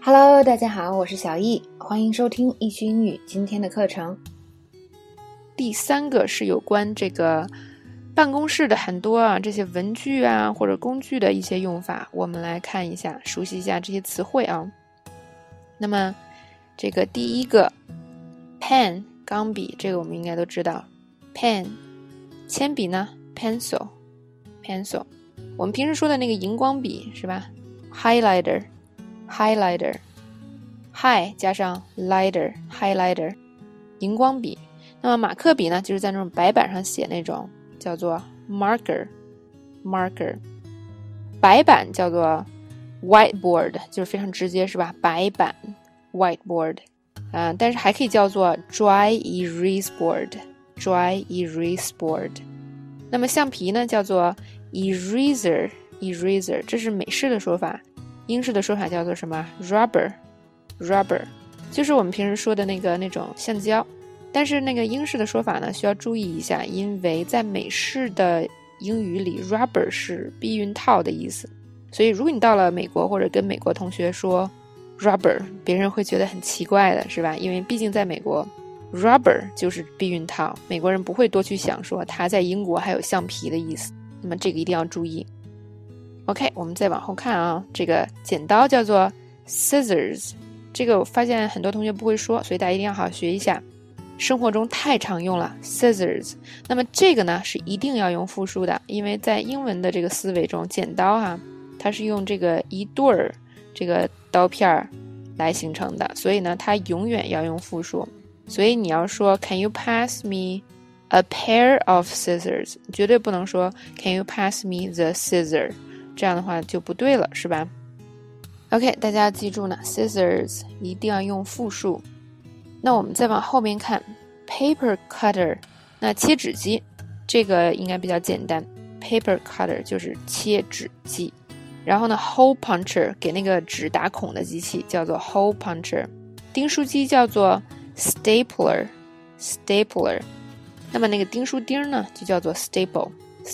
Hello， 大家好，我是小易，欢迎收听易趣英语今天的课程。 第三个是有关这个办公室的很多这些文具或者工具的一些用法，我们来看一下，熟悉一下这些词汇啊。那么这个第一个 pen 钢笔，这个我们应该都知道 pen。 铅笔呢 pencil。 我们平时说的那个荧光笔是吧， highlighter。 high 加上 highlighter 荧光笔。那么马克笔呢，就是在那种白板上写那种，叫做 marker。 白板叫做 whiteboard， 就是非常直接是吧，白板 whiteboard。但是还可以叫做 dry erase board。 那么橡皮呢叫做 eraser， 这是美式的说法，英式的说法叫做什么 rubber， 就是我们平时说的那种橡胶。但是那个英式的说法呢需要注意一下，因为在美式的英语里 rubber 是避孕套的意思，所以如果你到了美国或者跟美国同学说 rubber， 别人会觉得很奇怪的是吧，因为毕竟在美国 rubber 就是避孕套，美国人不会多去想说它在英国还有橡皮的意思，那么这个一定要注意。 OK， 我们再往后看啊，这个剪刀叫做 scissors， 这个我发现很多同学不会说，所以大家一定要好好学一下，生活中太常用了 scissors。 那么这个呢是一定要用复数的，因为在英文的这个思维中，剪刀它是用这个一对儿这个刀片来形成的，所以呢它永远要用复数。所以你要说 Can you pass me a pair of scissors， 绝对不能说 Can you pass me the scissor， 这样的话就不对了是吧。 OK， 大家要记住呢 scissors 一定要用复数。那我们再往后面看 paper cutter， 那切纸机这个应该比较简单， paper cutter 就是切纸机。然后呢 hole puncher 给那个纸打孔的机器叫做 hole puncher。 钉书机叫做 stapler。 那么那个钉书钉呢就叫做 staple。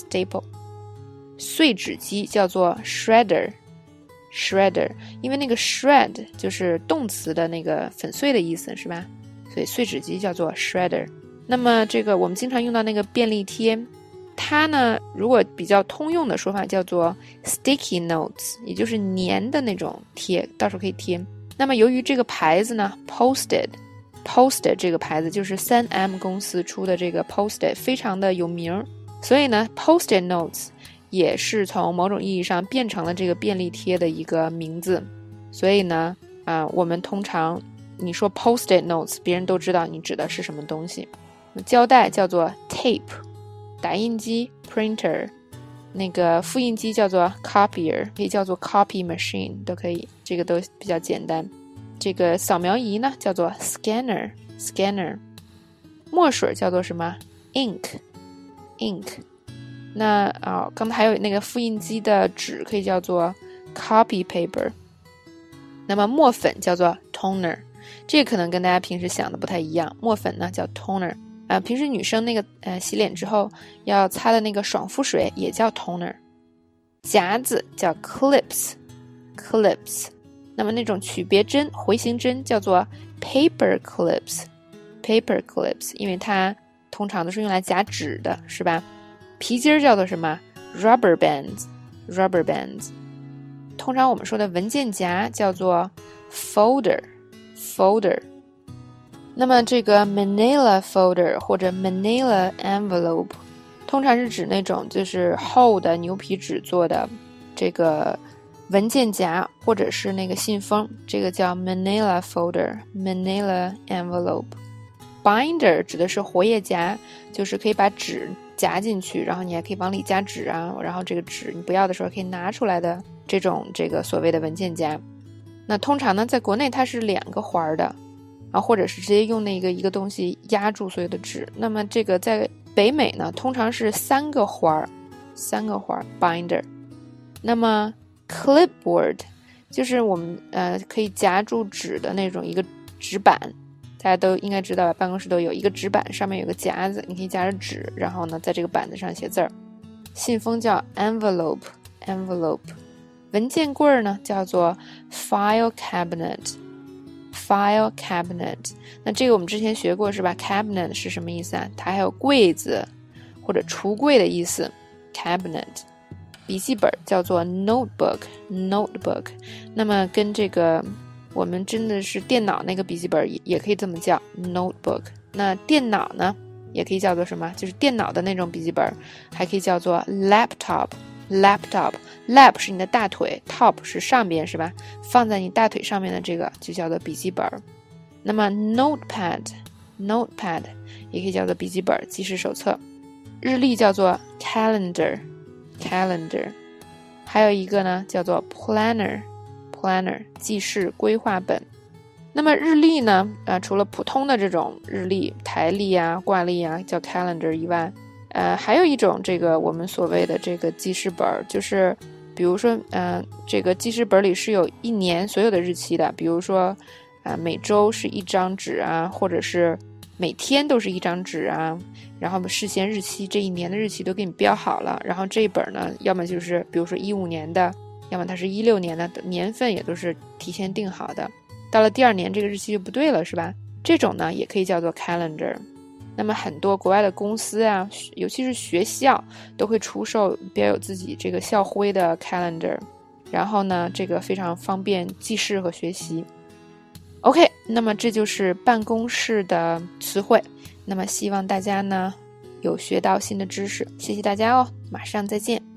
碎纸机叫做 shredder， 因为那个 shred 就是动词的那个粉碎的意思是吧，所以碎纸机叫做 shredder。 那么这个我们经常用到那个便利贴，它呢如果比较通用的说法叫做 sticky notes， 也就是粘的那种贴，到时候可以贴。那么由于这个牌子呢 Post-it 这个牌子就是 3M 公司出的这个 Post-it 非常的有名，所以呢 Post-it notes 也是从某种意义上变成了这个便利贴的一个名字。所以呢我们通常你说 Post-it notes 别人都知道你指的是什么东西。胶带叫做 tape， 打印机 printer， 那个复印机叫做 copier， 可以叫做 copy machine 都可以，这个都比较简单。这个扫描仪呢叫做 scanner。 墨水叫做什么 ink。 那刚才还有那个复印机的纸可以叫做 copy paper。 那么墨粉叫做 toner， 这个可能跟大家平时想的不太一样，墨粉呢叫 toner。平时女生那个洗脸之后要擦的那个爽肤水也叫 toner。 夹子叫 clips。 那么那种曲别针回形针叫做 paper clips， 因为它通常都是用来夹纸的是吧。皮筋叫做什么 rubber bands。 通常我们说的文件夹叫做 folder。那么这个 manila folder 或者 manila envelope 通常是指那种就是厚的牛皮纸做的这个文件夹或者是那个信封，这个叫 manila folder manila envelope。 binder 指的是活页夹，就是可以把纸夹进去，然后你还可以往里加纸然后这个纸你不要的时候可以拿出来的这个所谓的文件夹。那通常呢在国内它是2个环的或者是直接用那个一个东西压住所有的纸。那么这个在北美呢通常是3个环 binder。 那么 clipboard 就是我们可以夹住纸的那种一个纸板，大家都应该知道，办公室都有一个纸板，上面有个夹子，你可以夹着纸，然后呢在这个板子上写字儿。信封叫 envelope。 文件柜呢叫做 file cabinet。file cabinet， 那这个我们之前学过是吧？ cabinet 是什么意思啊？它还有柜子或者橱柜的意思。cabinet， 笔记本叫做 notebook。那么跟这个我们真的是电脑那个笔记本也可以这么叫 notebook。那电脑呢也可以叫做什么？就是电脑的那种笔记本，还可以叫做 laptop。lap 是你的大腿， top 是上边是吧？放在你大腿上面的这个就叫做笔记本。那么 notepad 也可以叫做笔记本、记事手册。日历叫做 calendar。还有一个呢叫做 planner， 记事规划本。那么日历呢除了普通的这种日历、台历啊、挂历啊叫 calendar 以外，还有一种这个我们所谓的这个记事本，就是比如说这个记事本里是有一年所有的日期的，比如说每周是一张纸啊，或者是每天都是一张纸啊，然后事先日期这一年的日期都给你标好了，然后这一本呢要么就是比如说15年的，要么它是16年的，年份也都是提前定好的，到了第二年这个日期就不对了是吧？这种呢也可以叫做 calendar。那么很多国外的公司啊，尤其是学校都会出售标有自己这个校徽的 calendar， 然后呢这个非常方便记事和学习。OK， 那么这就是办公室的词汇，那么希望大家呢有学到新的知识，谢谢大家哦，马上再见。